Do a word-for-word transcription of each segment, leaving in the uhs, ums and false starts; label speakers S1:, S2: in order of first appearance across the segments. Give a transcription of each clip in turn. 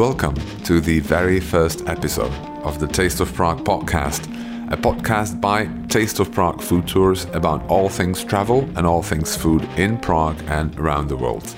S1: welcome to the very first episode of the Taste of Prague podcast, a podcast by Taste of Prague Food Tours about all things travel and all things food in Prague and around the world.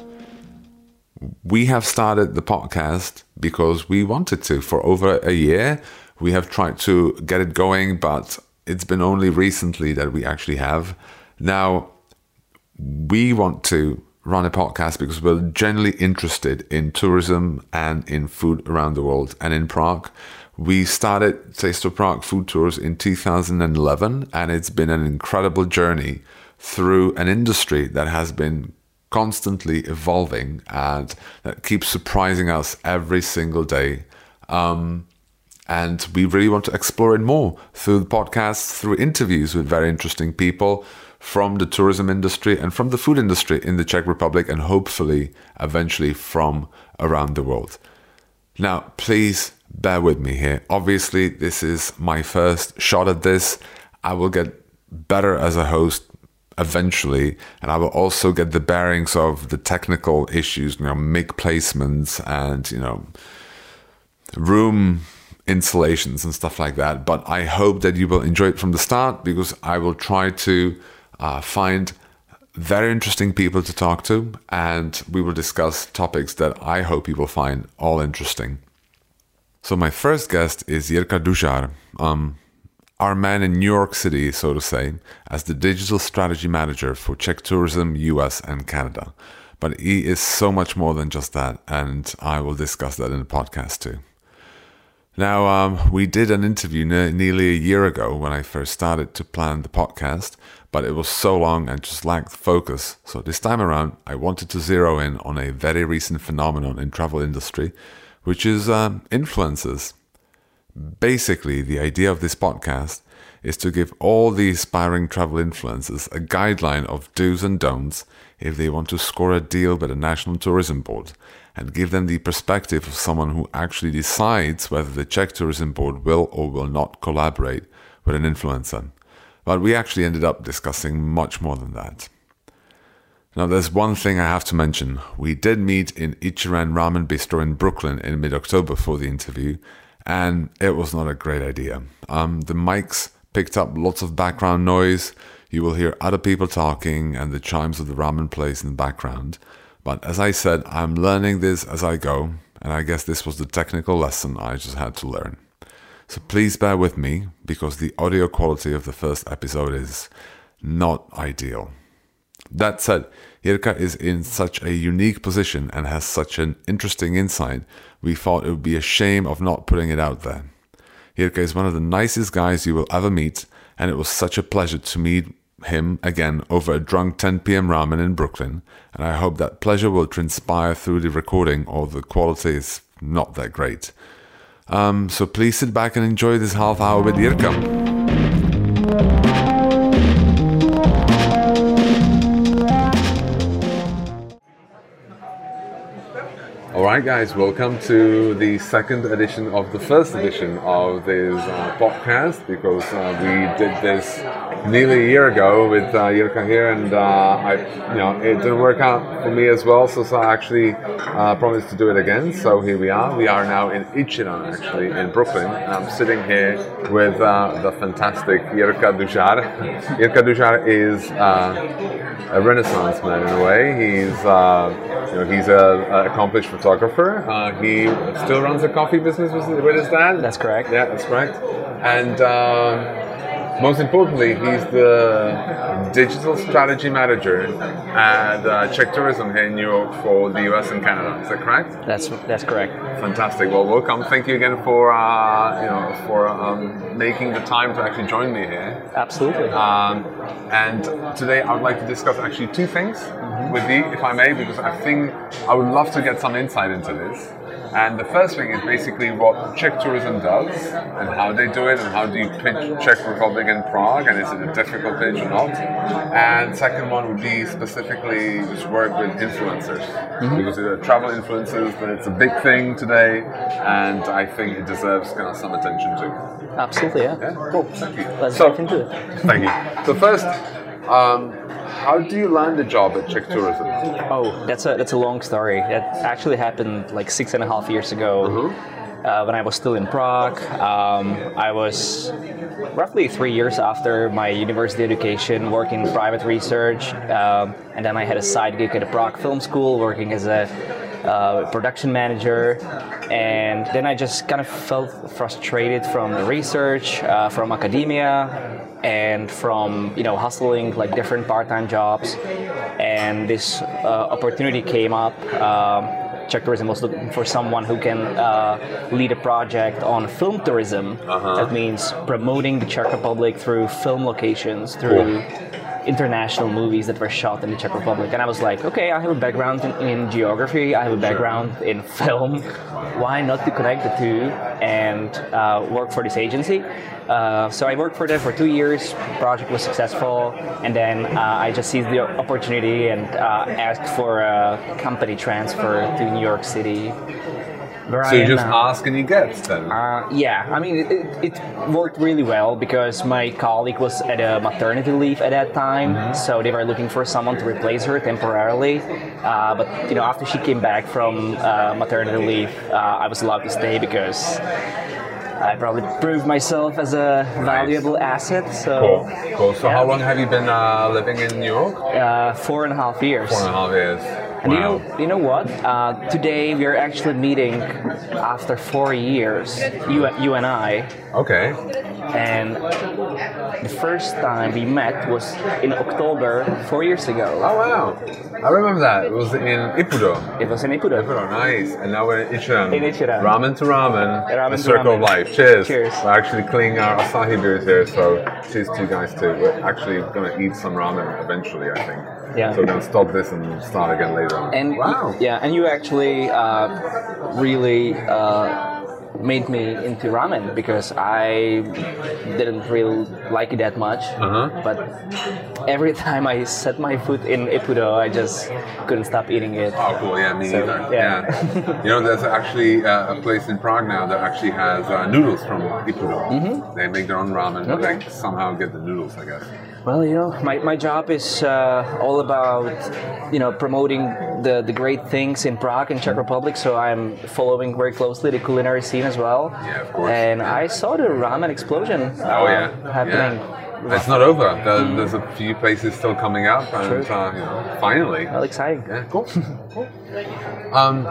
S1: We have started the podcast because we wanted to. For over a year, we have tried to get it going, but it's been only recently that we actually have. Now, we want to run a podcast because we're genuinely interested in tourism and in food around the world and in Prague. We started Taste of Prague Food Tours in two thousand eleven, and it's been an incredible journey through an industry that has been constantly evolving and that keeps surprising us every single day. Um, and we really want to explore it more through the podcast, through interviews with very interesting people from the tourism industry and from the food industry in the Czech Republic, and hopefully eventually from around the world. Now, please bear with me here. Obviously, this is my first shot at this. I will get better as a host eventually, and I will also get the bearings of the technical issues, you know, mic placements and, you know, room installations and stuff like that. But I hope that you will enjoy it from the start, because I will try to Uh, find very interesting people to talk to, and we will discuss topics that I hope you will find all interesting. So my first guest is Jirka Dužar, um, our man in New York City, so to say, as the digital strategy manager for Czech tourism, U S and Canada. But he is so much more than just that, and I will discuss that in the podcast too. Now, um, we did an interview ne- nearly a year ago when I first started to plan the podcast, but it was so long and just lacked focus. So this time around, I wanted to zero in on a very recent phenomenon in travel industry, which is um, influencers. Basically, the idea of this podcast is to give all the aspiring travel influencers a guideline of do's and don'ts if they want to score a deal with a national tourism board, and give them the perspective of someone who actually decides whether the Czech Tourism Board will or will not collaborate with an influencer. But we actually ended up discussing much more than that. Now, there's one thing I have to mention. We did meet in Ichiran Ramen Bistro in Brooklyn in mid-October for the interview, and it was not a great idea. Um, the mics picked up lots of background noise. You will hear other people talking and the chimes of the ramen place in the background. But as I said, I'm learning this as I go, and I guess this was the technical lesson I just had to learn. So please bear with me, because the audio quality of the first episode is not ideal. That said, Jirka is in such a unique position and has such an interesting insight, we thought it would be a shame of not putting it out there. Jirka is one of the nicest guys you will ever meet, and it was such a pleasure to meet him again over a drunk ten p.m. ramen in Brooklyn, and I hope that pleasure will transpire through the recording, or the quality is not that great. Um, so please sit back and enjoy this half hour with Jirka. Alright guys, welcome to the second edition of the first edition of this uh, podcast, because uh, we did this nearly a year ago with uh, Jirka here, and uh, I, you know, it didn't work out for me as well, so, so I actually uh, promised to do it again. So here we are. We are now in Ichiran, actually, in Brooklyn, and I'm sitting here with uh, the fantastic Jirka Dužar. Jirka Dužar is uh, a Renaissance man in a way. He's uh, You know, he's an accomplished photographer. Uh, he still runs a coffee business with, with his dad.
S2: That's correct.
S1: Yeah, that's correct. And um, most importantly, he's the digital strategy manager at uh, Czech Tourism here in New York for the U S and Canada. Is that correct?
S2: That's that's correct.
S1: Fantastic. Well, welcome. Thank you again for uh, you know for um, making the time to actually join me here.
S2: Absolutely.
S1: Um, and today I would like to discuss actually two things mm-hmm. with you, if I may, because I think I would love to get some insight into this. And the first thing is basically what Czech tourism does and how they do it, and how do you pitch Czech Republic and Prague, and is it a difficult pitch or not? And second one would be specifically just work with influencers, mm-hmm. because the travel influencers, it's a big thing today, and I think it deserves kind of some attention too.
S2: Absolutely, yeah.
S1: Yeah, cool. Thank you.
S2: Let's
S1: so,
S2: dive into it.
S1: Thank you. So first, um, how do you land a job at Czech Tourism?
S2: Oh, that's a that's a long story. That actually happened like six and a half years ago.
S1: Uh-huh.
S2: Uh, when I was still in Prague. Um, I was roughly three years after my university education working in private research, um, and then I had a side gig at the Prague Film School working as a uh, production manager, and then I just kind of felt frustrated from the research, uh, from academia, and from you know hustling like different part-time jobs, and this uh, opportunity came up. Um, Czech Tourism was looking for someone who can uh, lead a project on film tourism.
S1: Uh-huh.
S2: That means promoting the Czech Republic through film locations, through
S1: Cool.
S2: international movies that were shot in the Czech Republic. And I was like, okay, I have a background in, in geography, I have a background sure. in film. Why not to connect the two and uh, work for this agency? Uh, so I worked for them for two years. Project was successful, and then uh, I just seized the opportunity and uh, asked for a company transfer to New York City.
S1: So you just now. ask and you get then?
S2: Uh, yeah, I mean, it, it, it worked really well because my colleague was at a maternity leave at that time, mm-hmm. so they were looking for someone to replace her temporarily. Uh, but you know, after she came back from uh, maternity leave, uh, I was allowed to stay because I probably proved myself as a valuable nice. asset. So,
S1: cool. Cool. So
S2: yeah.
S1: how long have you been uh, living in New York?
S2: Uh, four and a half years.
S1: Four and a half years.
S2: And
S1: wow.
S2: you know, you know what? Uh, today we are actually meeting after four years, you, you and I.
S1: Okay.
S2: And the first time we met was in October four years ago.
S1: Oh wow! I remember that. It was in Ippudo.
S2: It was in Ippudo.
S1: Ippudo, nice. And now we're in Ichiran.
S2: In Ichiran.
S1: Ramen to ramen.
S2: Ramen
S1: the
S2: to
S1: circle
S2: ramen.
S1: of life. Cheers.
S2: Cheers.
S1: We're actually cleaning our Asahi beers here, so cheers to you guys too. We're actually going to eat some ramen eventually, I think.
S2: Yeah.
S1: So we're going to stop this and start again later on.
S2: And
S1: wow.
S2: Yeah, and you actually uh, really uh, made me into ramen because I didn't really like it that much.
S1: Uh-huh.
S2: But every time I set my foot in Ippudo, I just couldn't stop eating it.
S1: Oh, cool. Yeah, me
S2: so,
S1: neither.
S2: Yeah.
S1: yeah. You know, there's actually uh, a place in Prague now that actually has uh, noodles from Ippudo. Mm-hmm. They make their own ramen, but
S2: okay.
S1: they somehow get the noodles, I guess.
S2: Well, you know, my, my job is uh, all about, you know, promoting the, the great things in Prague and Czech Republic, so I'm following very closely the culinary scene as well.
S1: Yeah, of course.
S2: And
S1: yeah.
S2: I saw the ramen explosion uh,
S1: oh, yeah.
S2: happening.
S1: Yeah. It's not over. There, mm. There's a few places still coming up, and uh, you know, finally.
S2: Well, exciting.
S1: Yeah, cool. cool. Um,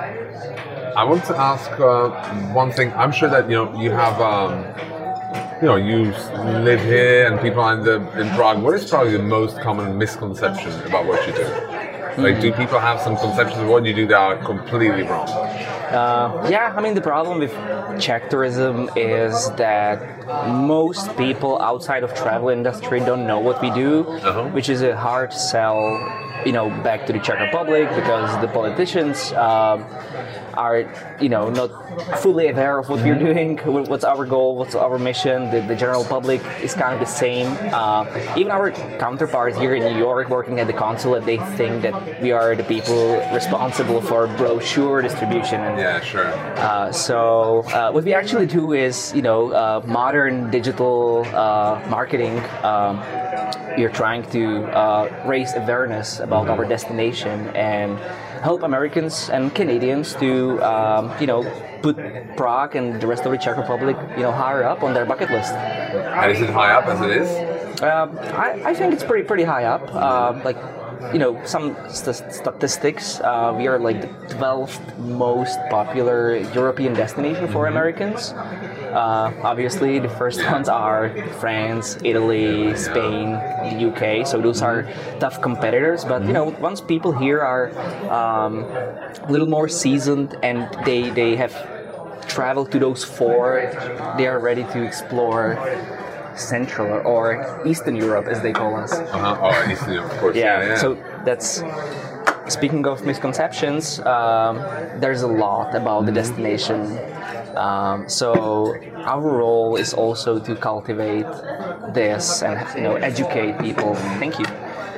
S1: I want to ask uh, one thing. I'm sure that you know you have. Um, You know, you live here and people are in, the, in Prague. What is probably the most common misconception about what you do? Like, do people have some conceptions of what you do that are completely wrong?
S2: Uh, yeah, I mean, the problem with Czech tourism is that most people outside of travel industry don't know what we do, uh-huh. which is a hard sell, you know, back to the Czech Republic because the politicians um, are, you know, not fully aware of what we're doing, what's our goal, what's our mission. The, the general public is kind of the same. Uh, even our counterparts here in New York working at the consulate, they think that we are the people responsible for brochure distribution. And,
S1: yeah, sure.
S2: Uh, so uh, what we actually do is, you know, uh, modern digital uh, marketing. Um, we're trying to uh, raise awareness about our destination and help Americans and Canadians to, um, you know, put Prague and the rest of the Czech Republic, you know, higher up on their bucket list.
S1: And is it high up as it is?
S2: Uh, I, I think it's pretty pretty high up. Uh, like, you know, some st- statistics. Uh, we are like the twelfth most popular European destination for mm-hmm. Americans. Uh, obviously, the first ones are France, Italy, Spain, the U K. So those are tough competitors. But you know, once people here are um, a little more seasoned and they they have traveled to those four, they are ready to explore Central or Eastern Europe, as they call us.
S1: Uh-huh. Oh, Eastern Europe, of course.
S2: Yeah.
S1: yeah, yeah.
S2: So that's. Speaking of misconceptions, um, there's a lot about the destination. Um, so our role is also to cultivate this and, you know, educate people. Thank you.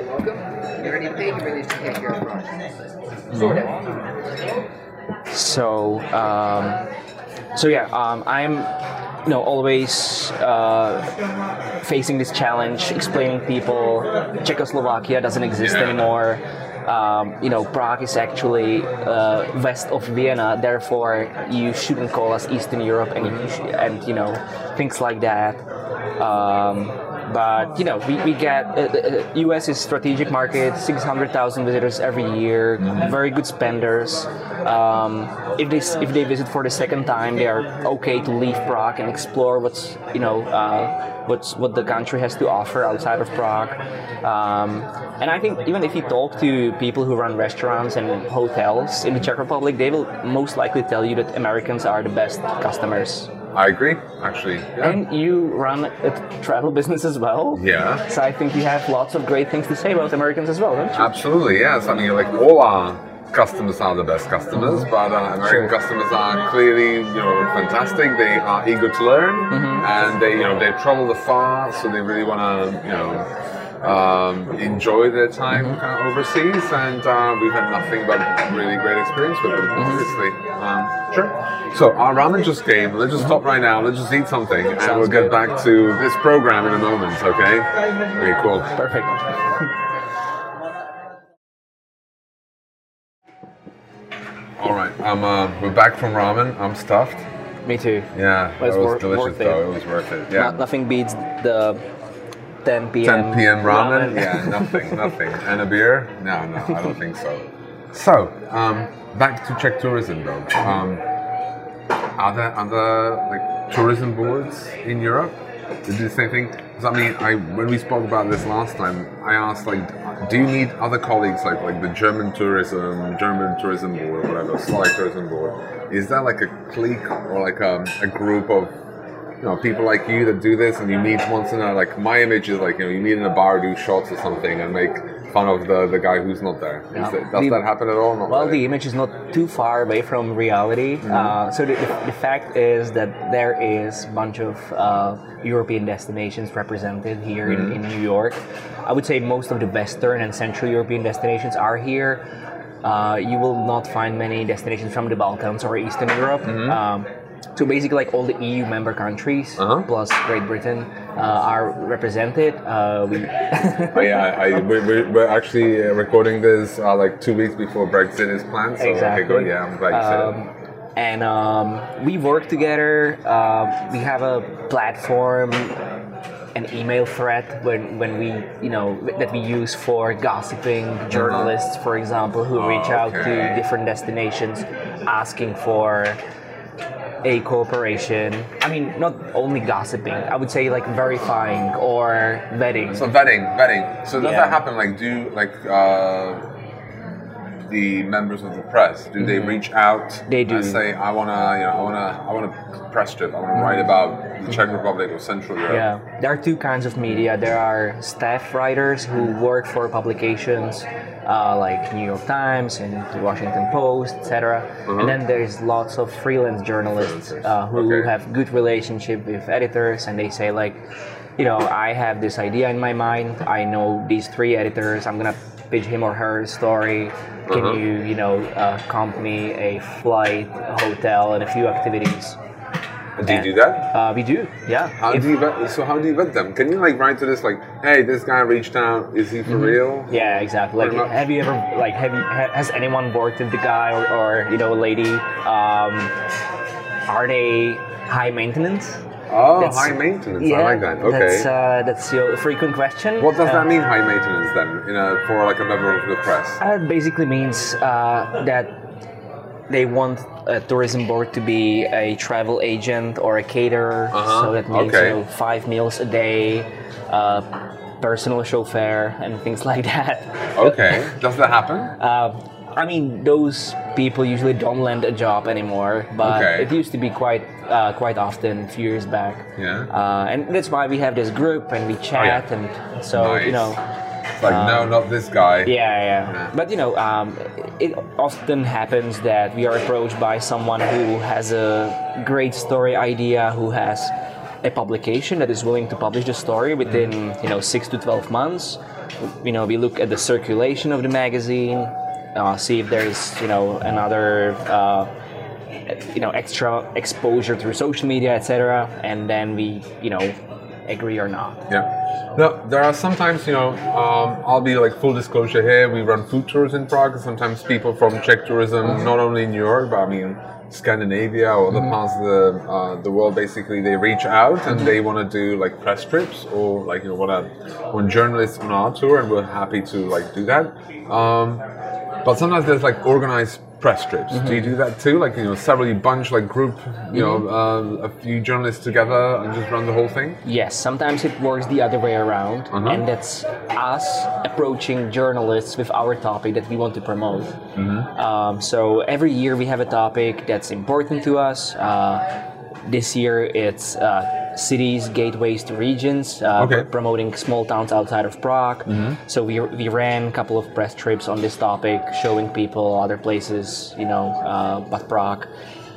S3: You already paid for these to take care of projects. Sort of.
S2: So, um, so yeah, um, I'm you know, always uh, facing this challenge, explaining people Czechoslovakia doesn't exist
S1: Yeah.
S2: anymore. Um, you know, Prague is actually uh, west of Vienna, therefore you shouldn't call us Eastern Europe, and you sh- and you know, things like that. Um, but you know, we, we get uh, uh, U S is strategic market, six hundred thousand visitors every year, very good spenders. Um, if they if they visit for the second time, they are okay to leave Prague and explore what's you know uh, what's what the country has to offer outside of Prague. Um, and I think even if you talk to people who run restaurants and hotels in the Czech Republic, they will most likely tell you that Americans are the best customers.
S1: I agree, actually. Yeah.
S2: And you run a travel business as well.
S1: Yeah.
S2: So I think you have lots of great things to say about Americans as well, don't you?
S1: Absolutely, yes. I mean, like all our customers are the best customers, but uh, American
S2: Sure.
S1: customers are clearly, you know, fantastic. They are eager to learn, and they, you know, they travel far, so they really want to, you know, um, enjoy their time kind of overseas. And uh, we've had nothing but really great experience with them, obviously. Um, sure. So our ramen just came. Let's just stop right now. Let's just eat something, and
S2: Sounds
S1: we'll get
S2: good.
S1: back to this program in a moment. Okay? Okay, cool.
S2: Perfect.
S1: All right, I'm. Uh, we're back from ramen. I'm stuffed.
S2: Me too.
S1: Yeah,
S2: But it's
S1: that was
S2: wor-
S1: delicious
S2: worth it.
S1: though. It was worth it. Yeah.
S2: No- nothing beats the ten p.m.
S1: ten p.m. ramen. Yeah, nothing, nothing. And a beer? No, no, I don't think so. So, um, back to Czech tourism though. Um, are there other like tourism boards in Europe that do the same thing? 'Cause I mean, I when we spoke about this last time, I asked like, do you need other colleagues like like the German tourism, German tourism board, or whatever, Slovak tourism board? Is that like a clique or like a, a group of you know people like you that do this and you meet once in a like my image is like you know you meet in a bar, do shots or something, and make fun of the, the guy who's not there. Is
S2: Yeah.
S1: that, does
S2: The-
S1: that happen at all? Not
S2: Well,
S1: really.
S2: the image is not too far away from reality. Uh, so the, the, the fact is that there is a bunch of uh, European destinations represented here in, in New York. I would say most of the Western and Central European destinations are here. Uh, you will not find many destinations from the Balkans or Eastern Europe. Um, so basically, like all the E U member countries
S1: Uh-huh.
S2: plus Great Britain uh, are represented. Uh, we
S1: Oh, yeah, I, I, we, we- we're actually uh, recording this uh, like two weeks before Brexit is planned. So
S2: Exactly.
S1: okay, good. Yeah, I'm glad you said
S2: Um, and um, we work together. Uh, we have a platform, an email thread when, when we, you know, that we use for gossiping journalists, for example, who reach out to
S1: Okay.
S2: different destinations asking for a cooperation. I mean, not only gossiping. I would say like verifying or vetting.
S1: So vetting, vetting. So does
S2: Yeah.
S1: that happen? Like, do like uh, the members of the press do they reach out?
S2: Mm-hmm. They do.
S1: And say, I wanna, you know, I wanna, I want a press strip. I wanna write about the Czech Republic or Central Europe.
S2: Yeah, there are two kinds of media. There are staff writers who work for publications uh, like New York Times and the Washington Post, et cetera. And then there's lots of freelance journalists uh, who
S1: Okay.
S2: have good relationship with editors, and they say like, you know, I have this idea in my mind. I know these three editors. I'm gonna pitch him or her a story. Can
S1: Uh-huh.
S2: you, you know, uh, comp me a flight, a hotel, and a few activities?
S1: Do you do that?
S2: Uh, we do, yeah.
S1: How
S2: If-
S1: do you vet, so how do you vet them? Can you like write to this like, hey, this guy reached out. Is he for real?
S2: Yeah, exactly. Like,
S1: Pretty much.
S2: have you ever like have you ha, has anyone worked with the guy or, or you know lady? Um, are they high maintenance?
S1: Oh,
S2: That's-
S1: high maintenance.
S2: Yeah,
S1: I like that. Okay.
S2: That's uh, that's your frequent question.
S1: What does
S2: Uh,
S1: that mean, high maintenance, then, in a, for like a member of the press?
S2: Uh, it basically means uh, that they want a tourism board to be a travel agent or a caterer.
S1: Uh-huh,
S2: So that means
S1: okay.
S2: you know, five meals a day, uh, personal chauffeur, and things like that.
S1: Okay. Does that happen?
S2: Uh, I mean, those people usually don't land a job anymore, but
S1: Okay.
S2: it used to be quite uh, quite often a few years back.
S1: Yeah.
S2: Uh, and that's why we have this group and we chat, and so
S1: Nice.
S2: you know,
S1: It's like, no, not this guy.
S2: yeah, yeah. But you know, um, it often happens that we are approached by someone who has a great story idea, who has a publication that is willing to publish the story within you know six to twelve months. You know, we look at the circulation of the magazine, uh, see if there is you know another uh, you know, extra exposure through social media, et cetera. And then we, you know, agree or not.
S1: Yeah. No, there are sometimes, you know, um, I'll be like full disclosure here. We run food tours in Prague, and sometimes people from Czech tourism, not only in New York, but I mean Scandinavia or other mm-hmm. parts of the uh, the world, basically they reach out and mm-hmm. they want to do like press trips or like you know what when journalists on our tour, and we're happy to like do that. Um, but sometimes there's like organized press trips. Mm-hmm. Do you do that too? Like you know, several bunch like group, you mm-hmm. know, uh, a few journalists together and just run the whole thing.
S2: Yes, sometimes it works the other way around, uh-huh. and that's us approaching journalists with our topic that we want to promote. Mm-hmm. Um, so every year we have a topic that's important to us. Uh, this year it's uh, cities, gateways to regions, uh, okay. promoting small towns outside of Prague. Mm-hmm. So we we ran a couple of press trips on this topic, showing people other places, you know, uh, but Prague,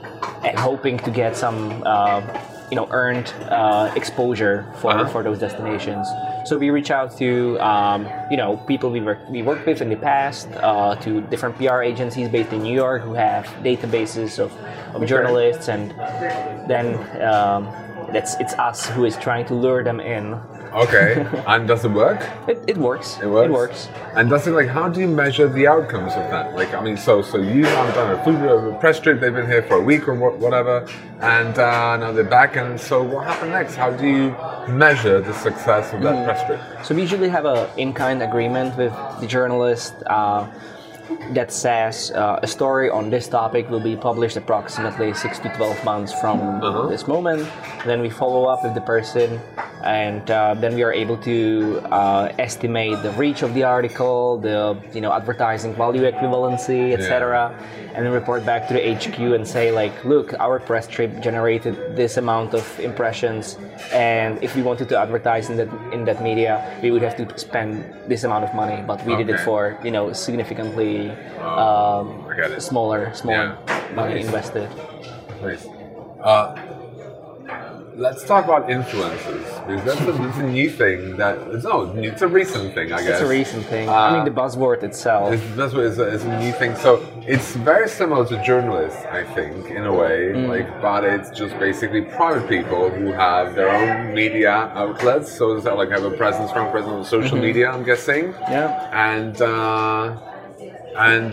S2: and hoping to get some, uh, you know, earned uh, exposure for, uh-huh. for those destinations. So we reach out to, um, you know, people we work we worked with in the past, uh, to different P R agencies based in New York who have databases of, of okay. journalists, and then um, that's it's us who is trying to lure them in.
S1: Okay, and does it work?
S2: It, it works.
S1: It works.
S2: It works.
S1: And does it like? How do you measure the outcomes of that? Like, I mean, so so you have done a food a press trip. They've been here for a week or whatever, and uh, now they're back. And so, what happened next? How do you measure the success of that mm. press trip?
S2: So we usually have a in-kind agreement with the journalist. Uh, that says uh, a story on this topic will be published approximately six to twelve months from uh-huh. this moment. Then we follow up with the person, and uh, then we are able to uh, estimate the reach of the article, the you know advertising value equivalency, et cetera, yeah. and then report back to the H Q and say like, look, our press trip generated this amount of impressions, and if we wanted to advertise in that in that media, we would have to spend this amount of money, but we okay. did it for you know significantly. Um, smaller, smaller
S1: yeah.
S2: money
S1: nice.
S2: invested.
S1: Nice. Uh, let's talk about influencers, because that's a, that's a new thing. That it's no, it's a recent thing, I guess.
S2: It's a recent thing.
S1: Uh,
S2: I mean, the buzzword itself.
S1: It's, the buzzword is a, is a new thing. So it's very similar to journalists, I think, in a way. Mm. Like, but it's just basically private people who have their own media outlets. So it's like have a presence, strong presence on social mm-hmm. media. I'm guessing.
S2: Yeah.
S1: And. Uh, And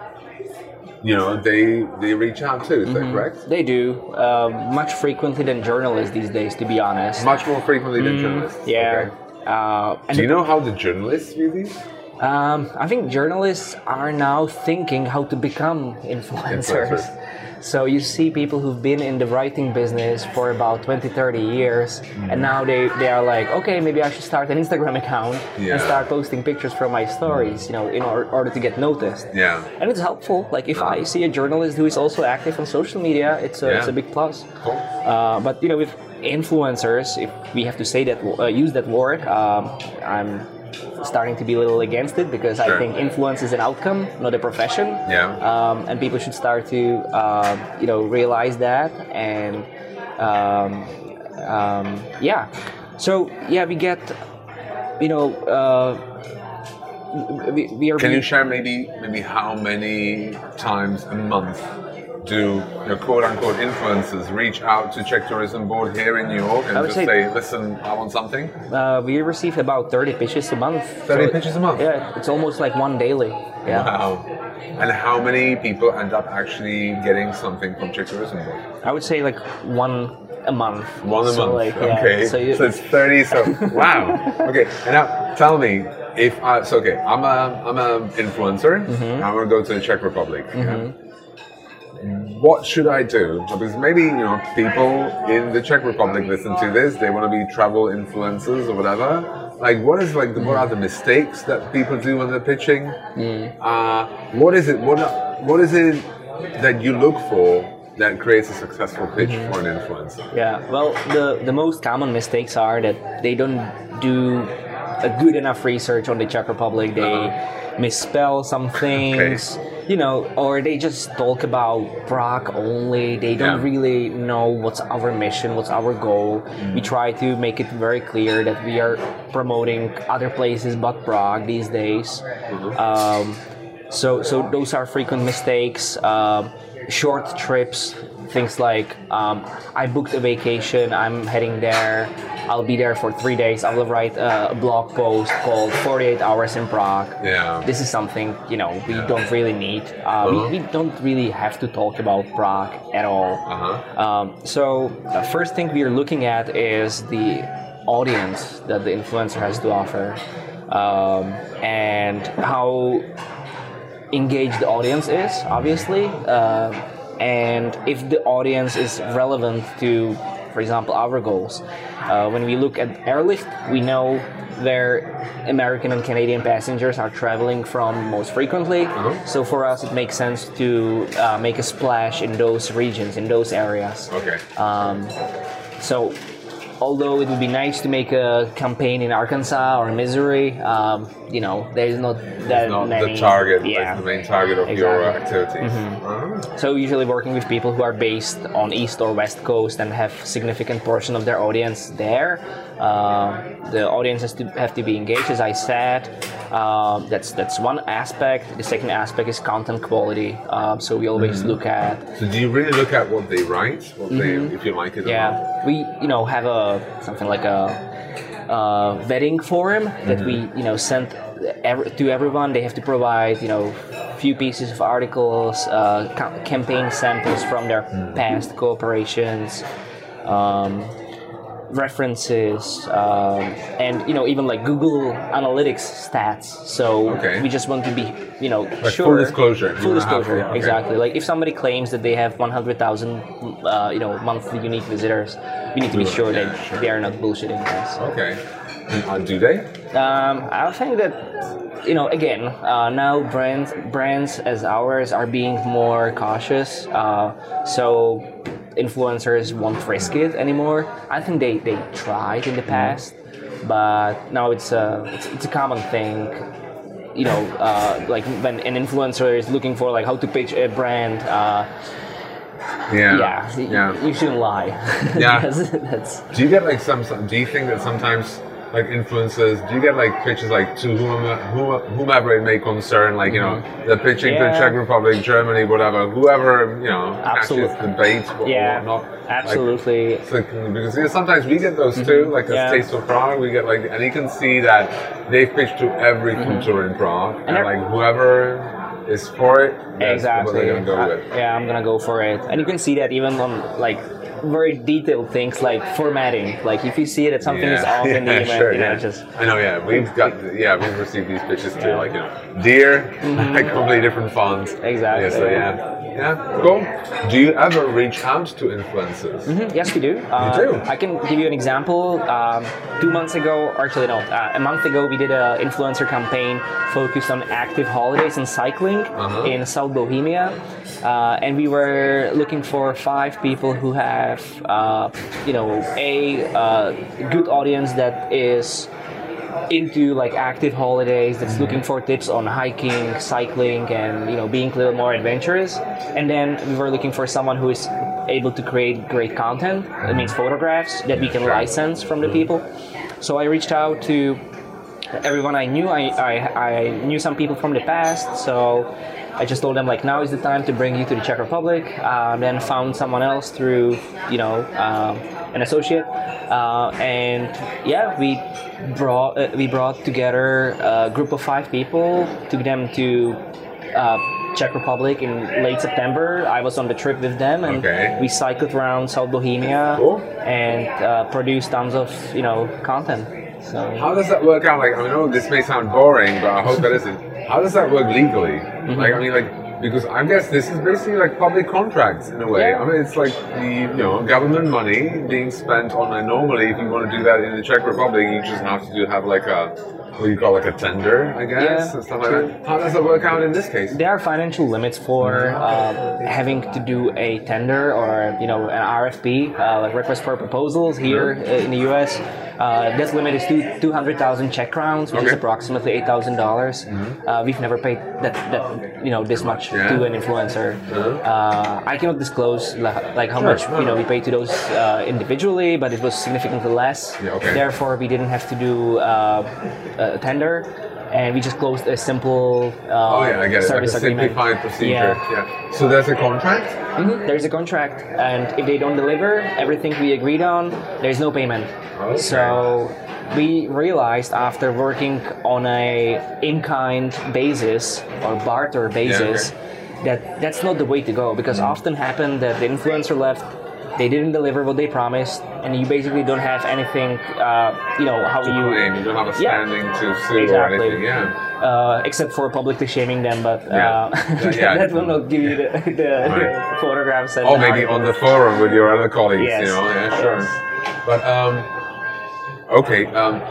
S1: you know they they reach out too. Is mm-hmm. that correct?
S2: They do um, much frequently than journalists these days. To be honest,
S1: much more frequently than mm, journalists.
S2: Yeah.
S1: Okay.
S2: Uh, and
S1: do you know how the journalists view these?
S2: Um, I think journalists are now thinking how to become influencers. influencers. So you see people who've been in the writing business for about twenty, thirty years, mm. and now they, they are like, okay, maybe I should start an Instagram account yeah. and start posting pictures from my stories, you know, in or- order to get noticed.
S1: Yeah.
S2: And it's helpful. Like if I see a journalist who is also active on social media, it's a, yeah. it's a big plus.
S1: Cool.
S2: Uh, but you know, with influencers, if we have to say that, uh, use that word, um, I'm starting to be a little against it, because sure. I think influence is an outcome, not a profession.
S1: Yeah.
S2: Um, and people should start to, uh, you know, realize that. And um, um, yeah. So yeah, we get, you know, uh, we, we are.
S1: Can you share maybe maybe how many times a month do your quote-unquote influencers reach out to Czech Tourism Board here in New York and just say, say, listen, I want something?
S2: Uh, we receive about thirty pitches a month.
S1: thirty so pitches a month?
S2: Yeah, it's almost like one daily. Yeah.
S1: Wow. And how many people end up actually getting something from Czech Tourism Board?
S2: I would say like one a month.
S1: One a
S2: so
S1: month,
S2: like,
S1: okay.
S2: Yeah, so, you,
S1: so it's thirty, so wow. Okay, and now tell me, if I, so okay, I'm a, I'm an influencer, mm-hmm. I want to go to the Czech Republic. Mm-hmm. Yeah? What should I do? Because maybe, you know, people in the Czech Republic listen to this, they want to be travel influencers or whatever. Like, what is like the, what are the mistakes that people do when they're pitching? Mm. Uh, what is it? What what is it that you look for that creates a successful pitch mm-hmm. for an influencer?
S2: Yeah. Well, the the most common mistakes are that they don't do a good enough research on the Czech Republic. They uh-huh. misspell some things. Okay. You know, or they just talk about Prague only. They don't yeah. really know what's our mission, what's our goal. Mm. We try to make it very clear that we are promoting other places but Prague these days. Mm-hmm. Um, so, so those are frequent mistakes. Uh, short trips, things like um, I booked a vacation, I'm heading there, I'll be there for three days, I will write a blog post called forty-eight hours in Prague.
S1: Yeah.
S2: This is something, you know, we
S1: Yeah.
S2: don't really need. Uh,
S1: Uh-huh.
S2: we, we don't really have to talk about Prague at all.
S1: Uh-huh.
S2: Um, so the first thing we are looking at is the audience that the influencer has to offer, um, and how engaged the audience is, obviously, uh, and if the audience is relevant to, for example, our goals. Uh, when we look at Airlift, we know where American and Canadian passengers are traveling from most frequently.
S1: Uh-huh.
S2: So for us, it makes sense to uh, make a splash in those regions, in those areas.
S1: Okay.
S2: Um, so, although it would be nice to make a campaign in Arkansas or Missouri, um, you know, there's not that
S1: Not
S2: many.
S1: the target,
S2: Yeah.
S1: like the main target of your
S2: Exactly.
S1: activities.
S2: Mm-hmm.
S1: Uh-huh.
S2: So usually working with people who are based on East or West Coast and have significant portion of their audience there. Uh, the audience has to have to be engaged, as I said. Um, that's that's one aspect. The second aspect is content quality. Um, so we always
S1: Mm-hmm.
S2: look at
S1: So do you really look at what they write, what they, if you like it or not?
S2: yeah, we you know have a something like a, uh vetting form that we you know send ev- to everyone. They have to provide you know few pieces of articles, uh, ca- campaign samples from their past cooperations. Um, references um, and you know even like Google Analytics stats. So
S1: Okay.
S2: we just want to be you know
S1: Like
S2: sure
S1: full disclosure. You
S2: full
S1: wanna have-
S2: disclosure
S1: yeah, okay.
S2: exactly. Like if somebody claims that they have one hundred thousand uh, you know monthly unique visitors, we need to be
S1: Yeah,
S2: sure
S1: yeah,
S2: that
S1: sure.
S2: they are not bullshitting us.
S1: Okay. And, uh, do they?
S2: Um, I think that you know again uh, now brands brands as ours are being more cautious. Uh, so influencers won't risk it anymore. I think they, they tried in the past, but now it's a it's, it's a common thing. You know, uh, like when an influencer is looking for like how to pitch a brand. Uh,
S1: Yeah.
S2: yeah, y-
S1: Yeah.
S2: you shouldn't lie.
S1: Yeah.
S2: that's, that's
S1: Do you get like some? some- Do you think that sometimes, like influencers, do you get like pitches like to whomever, whom- whomever it may concern, like you know, they're pitching to
S2: Yeah.
S1: Czech Republic, Germany, whatever, whoever you know
S2: Absolutely.
S1: catches the bait or,
S2: yeah,
S1: or not.
S2: absolutely.
S1: Like, it's like, because yeah, sometimes we get those too, like a
S2: Yeah.
S1: Taste of Prague, we get like, and you can see that they've pitched to every tour in Prague, and,
S2: they're-
S1: like whoever is for it, that's what
S2: Exactly.
S1: they're gonna go
S2: Uh,
S1: with.
S2: yeah, I'm gonna go for it. And you can see that even on like very detailed things like formatting. Like if you see that something is off in the
S1: yeah,
S2: email,
S1: sure,
S2: you know,
S1: yeah.
S2: just
S1: I know, yeah. We've got, yeah, we've received these pitches too,
S2: Yeah.
S1: like, you know, deer, like completely different fonts.
S2: Exactly.
S1: Yeah, so yeah. Yeah, cool. Do you ever reach out to influencers?
S2: Mhm, yes, we do. Uh,
S1: do?
S2: I can give you an example. Um, two months ago, or actually no, uh, a month ago, we did an influencer campaign focused on active holidays and cycling
S1: Uh-huh.
S2: in South Bohemia, uh, and we were looking for five people who have, uh, you know, a uh, good audience that is into like active holidays, that's looking for tips on hiking, cycling, and you know being a little more adventurous. And then we were looking for someone who is able to create great content. That means photographs that we can license from the people. So I reached out to everyone I knew. I, I, I knew some people from the past, so I just told them like now is the time to bring you to the Czech Republic. Uh, then found someone else through you know um, an associate, uh, and yeah, we brought uh, we brought together a group of five people, took them to uh, Czech Republic in late September. I was on the trip with them, and
S1: Okay.
S2: we cycled around South Bohemia
S1: Cool.
S2: and uh, produced tons of you know content. So.
S1: How does that work out? Like, I know this may sound boring, but I hope that isn't. How does that work legally?
S2: Mm-hmm.
S1: Like, I mean, like, because I guess this is basically like public contracts in a way.
S2: Yeah.
S1: I mean, it's like the you know government money being spent on. And normally, if you want to do that in the Czech Republic, you just have to do, have like a what do you call like a tender, I guess,
S2: Yeah,
S1: and stuff like that. How does that work out in this case?
S2: There are financial limits for uh, having to do a tender or you know an R F P, uh, like request for proposals here uh, in the U S. Uh, that limit is two two hundred thousand Czech crowns, which is
S1: Okay.
S2: approximately eight thousand dollars. Uh, we've never paid that that you know this much
S1: Yeah.
S2: to an influencer. Uh, I cannot disclose like, like how
S1: Sure,
S2: much
S1: no,
S2: you know
S1: no.
S2: we paid to those uh, individually, but it was significantly less.
S1: Yeah, okay.
S2: Therefore, we didn't have to do uh, a tender. and we just closed a simple uh,
S1: Oh yeah, I get it. Like a
S2: service agreement.
S1: simplified procedure.
S2: Yeah.
S1: Yeah. So there's a contract.
S2: Mhm. There's a contract, and if they don't deliver everything we agreed on, there's no payment.
S1: Okay.
S2: So we realized after working on a in-kind basis or barter basis that that's not the way to go, because often happen that the influencer left, they didn't deliver what they promised, and you basically don't have anything, uh, you know, how
S1: To
S2: you...
S1: claim. You don't have a
S2: Yeah.
S1: standing to sue or
S2: Exactly.
S1: anything. Yeah.
S2: Uh, except for publicly shaming them, but uh,
S1: Yeah. Yeah.
S2: that will not give you the, the,
S1: Right.
S2: the photographs. And
S1: Or maybe on the forum with your other colleagues.
S2: Yes.
S1: You know. Yeah. Sure.
S2: Yes.
S1: But um, okay. Um,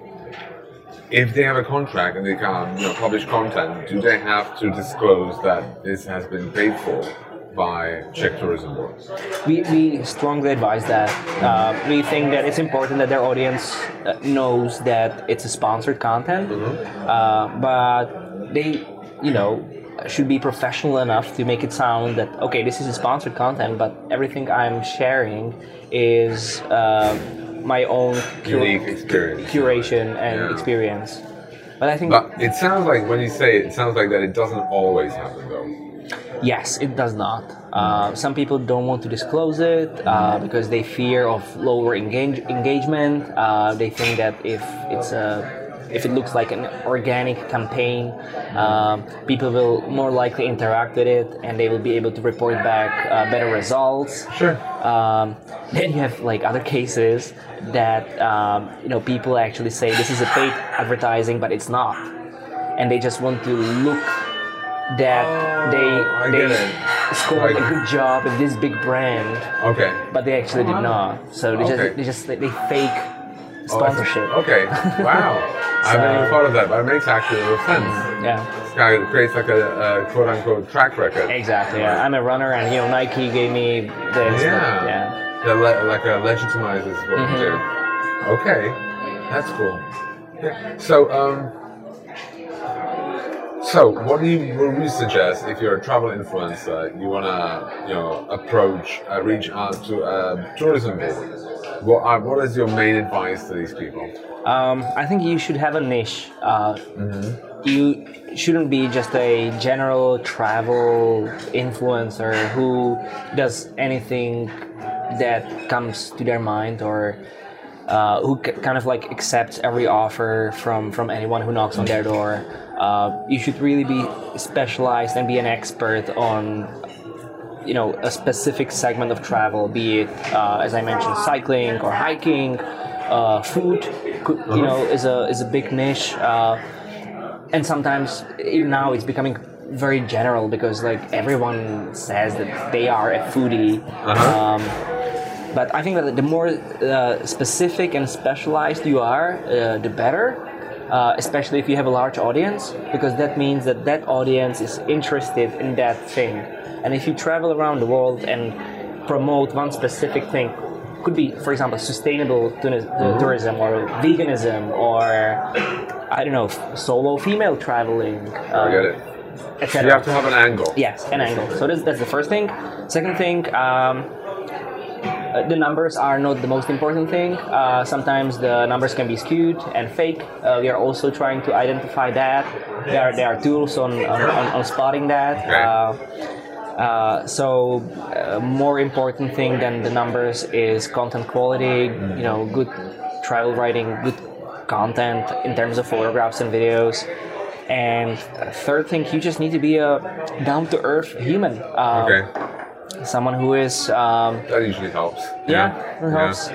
S1: if they have a contract and they can, you know, publish content, do they have to disclose that this has been paid for by Czech Tourism Board?
S2: We, we strongly advise that. Uh, we think that it's important that their audience uh, knows that it's a sponsored content, uh, but they, you know, should be professional enough to make it sound that, okay, this is a sponsored content, but everything I'm sharing is uh, my own cur-
S1: Unique experience.
S2: curation and
S1: Yeah.
S2: experience. But I think
S1: But it sounds like when you say it, it sounds like that it doesn't always happen though.
S2: yes, it does not. Uh, some people don't want to disclose it uh, because they fear of lower engage- engagement. Uh, they think that if it's a if it looks like an organic campaign, um, people will more likely interact with it, and they will be able to report back uh, better results.
S1: Sure.
S2: Um, then you have like other cases that um, you know people actually say this is a paid advertising, but it's not, and they just want to look that
S1: Oh,
S2: they
S1: I
S2: they
S1: get it.
S2: scored
S1: Like-
S2: a good job with this big brand,
S1: Okay.
S2: but they actually did not. So they
S1: Okay.
S2: just they just they fake
S1: Oh,
S2: sponsorship.
S1: okay. Wow. I haven't
S2: So-
S1: even thought of that, but it makes actually a little sense.
S2: Yeah.
S1: This guy creates like a, a quote unquote track record.
S2: Exactly. Yeah. I'm a runner, and you know Nike gave me this.
S1: Yeah.
S2: But, yeah.
S1: That le- like uh, legitimizes what
S2: Mhm.
S1: you do. Okay, that's cool. Yeah. So, um, so what do you what would you suggest if you're a travel influencer? You wanna, you know, approach, uh, reach out to a tourism board. What are, what is your main advice to these people?
S2: Um, I think you should have a niche. Uh, You shouldn't be just a general travel influencer who does anything that comes to their mind, or uh, who c- kind of like accepts every offer from, from anyone who knocks on their door. Uh, you should really be specialized and be an expert on, you know, a specific segment of travel, be it, uh, as I mentioned, cycling or hiking. Uh, food, could, you know, is a is a big niche, uh, and sometimes even now it's becoming very general because like everyone says that they are a foodie.
S1: Uh-huh.
S2: Um, but I think that the more uh, specific and specialized you are, uh, the better. Uh, especially if you have a large audience, because that means that that audience is interested in that thing. And if you travel around the world and promote one specific thing, could be, for example, sustainable tuni- uh, tourism or veganism or, I don't know, f- solo female traveling,
S1: I get it.
S2: et
S1: So you
S2: cetera.
S1: have to have an angle.
S2: Yes, an angle. So that's, that's the first thing. Second thing, um, uh, the numbers are not the most important thing. Uh, sometimes the numbers can be skewed and fake. Uh, we are also trying to identify that. There are, there are tools on, on, on, on spotting that.
S1: Okay.
S2: Uh, uh, so, uh, more important thing than the numbers is content quality. You know, good travel writing, good content in terms of photographs and videos. And third thing, you just need to be a down-to-earth human. Um,
S1: Okay.
S2: Someone who is, um,
S1: That usually helps.
S2: yeah, it helps.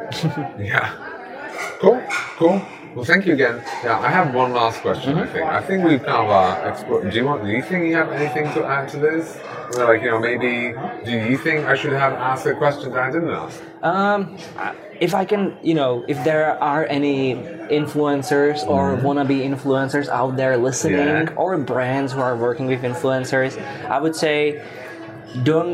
S1: Yeah. Cool, cool. Well, thank you again. Yeah, I have one last question. I think. I think we've kind of uh, explored. Do you want? Do you think you have anything to add to this? Or like, you know, maybe. Do you think I should have asked a question that I didn't ask?
S2: Um, if I can, you know, if there are any influencers or wannabe influencers out there listening,
S1: Yeah.
S2: or brands who are working with influencers, I would say don't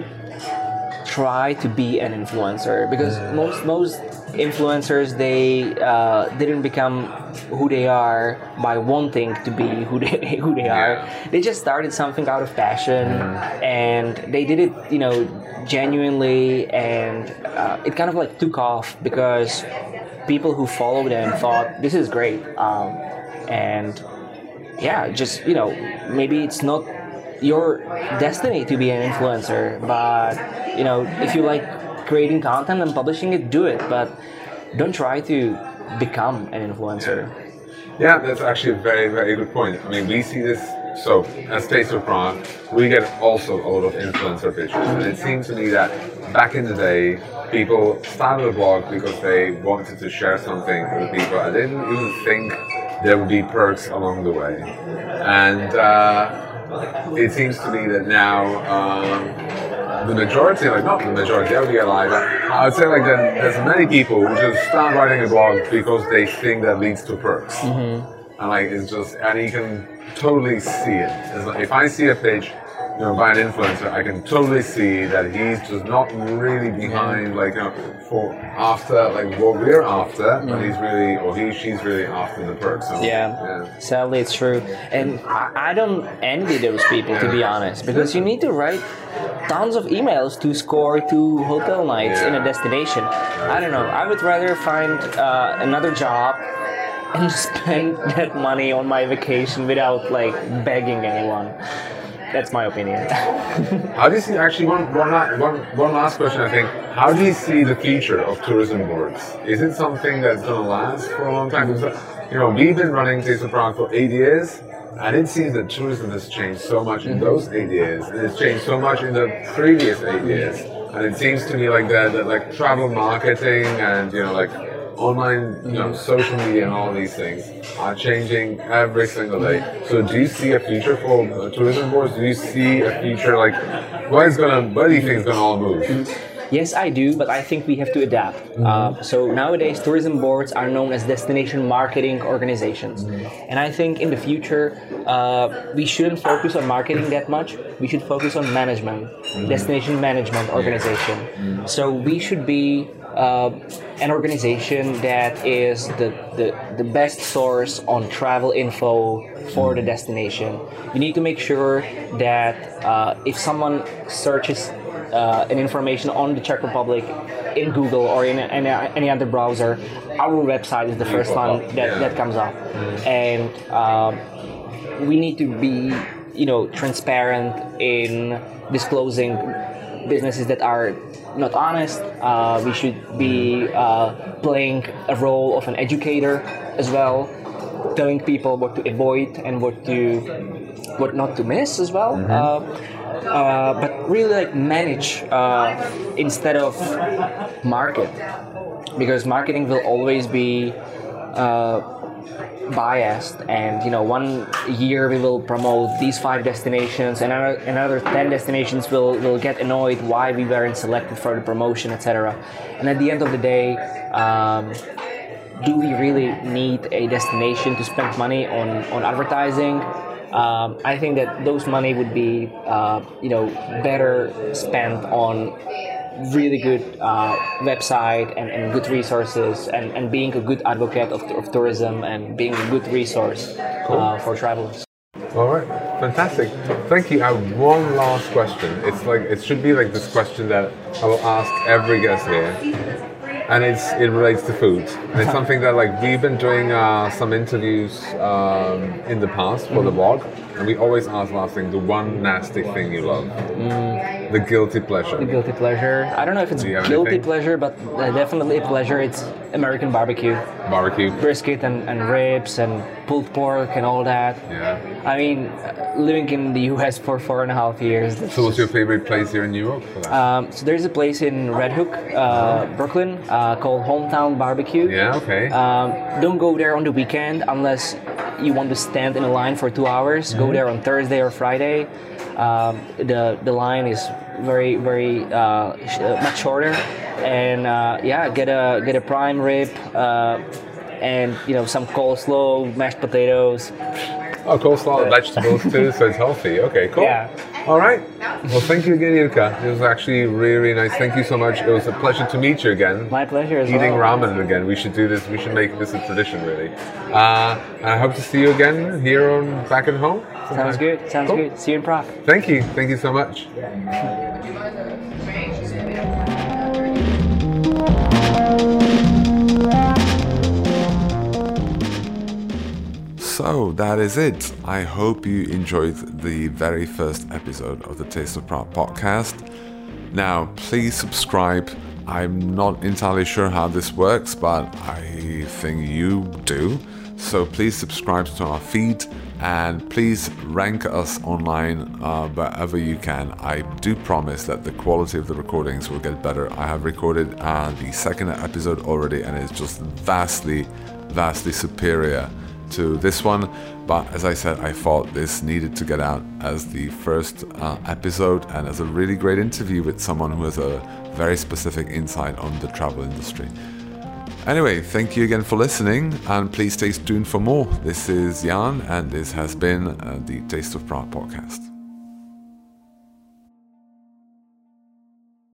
S2: try to be an influencer, because most most influencers, they uh, didn't become who they are by wanting to be who they who they are.
S1: Yeah.
S2: They just started something out of passion, and they did it, you know, genuinely, and uh, it kind of like took off because people who followed them thought this is great, um, and yeah, just, you know, maybe it's not your destiny to be an influencer, but, you know, if you like creating content and publishing it, do it, but don't try to become an influencer.
S1: Yeah, that's actually a very, very good point. I mean, we see this, so as Taste of Prague, we get also a lot of influencer pictures, and it seems to me that back in the day, people started a blog because they wanted to share something with people, and they didn't even think there would be perks along the way. And uh, it seems to me that now, um, the majority, like not the majority, I would realize that I would say like that there's many people who just start writing a blog because they think that leads to perks. Mm-hmm. And like it's just, and you can totally see it. It's like, if I see a page, you know, by an influencer, I can totally see that he's just not really behind, like, you know, for after, like, what we're after, mm. but he's really, or he, she's really after the perks. So,
S2: yeah. yeah, sadly it's true. And I, I don't envy those people, to be honest, because you need to write tons of emails to score two hotel nights yeah. in a destination. I don't know, I would rather find uh, another job and spend that money on my vacation without, like, begging anyone. That's my opinion.
S1: How do you see, actually, one, one, one, one last question, I think. How do you see the future of tourism boards? Is it something that's going to last for a long time? Because, you know, we've been running Taste of Prague for eight years, and it seems that tourism has changed so much in those eight years, and it's changed so much in the previous eight years. And it seems to me like that, that like travel marketing and, you know, like online, you know, social media and all these things are changing every single day. So do you see a future for uh, tourism boards? Do you see a future, like, where is gonna, where do you think it's gonna all move?
S2: Yes, I do, but I think we have to adapt. Mm-hmm. Uh, so nowadays, tourism boards are known as destination marketing organizations. Mm-hmm. And I think in the future, uh, we shouldn't focus on marketing that much. We should focus on management, mm-hmm. destination management organization. Mm-hmm. So we should be uh, an organization that is the, the, the best source on travel info for the destination. You need to make sure that uh, if someone searches Uh, an information on the Czech Republic in Google or in any, any other browser, our website is the first one that, that comes up. And um, we need to be, you know, transparent in disclosing businesses that are not honest. Uh, we should be uh, playing a role of an educator as well, telling people what to avoid and what to what not to miss as well. Mm-hmm. uh, Uh, but really like manage uh, instead of market, because marketing will always be uh, biased, and you know, one year we will promote these five destinations, and another, another ten destinations will, will get annoyed why we weren't selected for the promotion, et cetera. And at the end of the day, um, do we really need a destination to spend money on, on advertising? Um, I think that those money would be, uh, you know, better spent on really good uh, website and, and good resources, and, and being a good advocate of, of tourism and being a good resource cool. uh, for travelers.
S1: All right, fantastic. Thank you. I have one last question. It's like it should be like this question that I will ask every guest here. And it's it relates to food. And it's something that like we've been doing uh, some interviews um, in the past for the blog, and we always ask last thing, the one nasty thing you love, mm. the guilty pleasure.
S2: The guilty pleasure. I don't know if it's guilty anything? pleasure, but uh, definitely a pleasure. It's American barbecue.
S1: Barbecue.
S2: Brisket and, and ribs and pulled pork and all that.
S1: Yeah.
S2: I mean, living in the U S for four and a half years.
S1: So what's your favorite place here in New York for that?
S2: Um, so there's a place in Red Hook, uh, Brooklyn, uh, called Hometown Barbecue.
S1: Yeah, okay.
S2: Um, don't go there on the weekend unless you want to stand in a line for two hours. Mm-hmm. Go there on Thursday or Friday. Um, the the line is very very uh, sh- uh, much shorter, and uh, yeah, get a get a prime rib, uh, and you know, some coleslaw, mashed potatoes.
S1: Oh, coleslaw and vegetables too, so it's healthy. Okay, cool.
S2: Yeah.
S1: All right. Well, thank you again, Jirka. It was actually really, really nice. Thank you so much. It was a pleasure to meet you again.
S2: My pleasure as
S1: Eating
S2: well.
S1: ramen again. We should do this. We should make this a tradition, really. Uh, and I hope to see you again here on back at home. Sometime.
S2: Sounds good. Sounds cool. good. See you in Prague.
S1: Thank you. Thank you so much. So So that is it. I hope you enjoyed the very first episode of the Taste of Prague podcast. Now, please subscribe. I'm not entirely sure how this works, but I think you do. So please subscribe to our feed and please rank us online uh, wherever you can. I do promise that the quality of the recordings will get better. I have recorded uh, the second episode already and it's just vastly, vastly superior to this one. But as I said, I thought this needed to get out as the first uh, episode and as a really great interview with someone who has a very specific insight on the travel industry. Anyway, thank you again for listening and please stay tuned for more. This is Jan and this has been uh, the Taste of Prague podcast.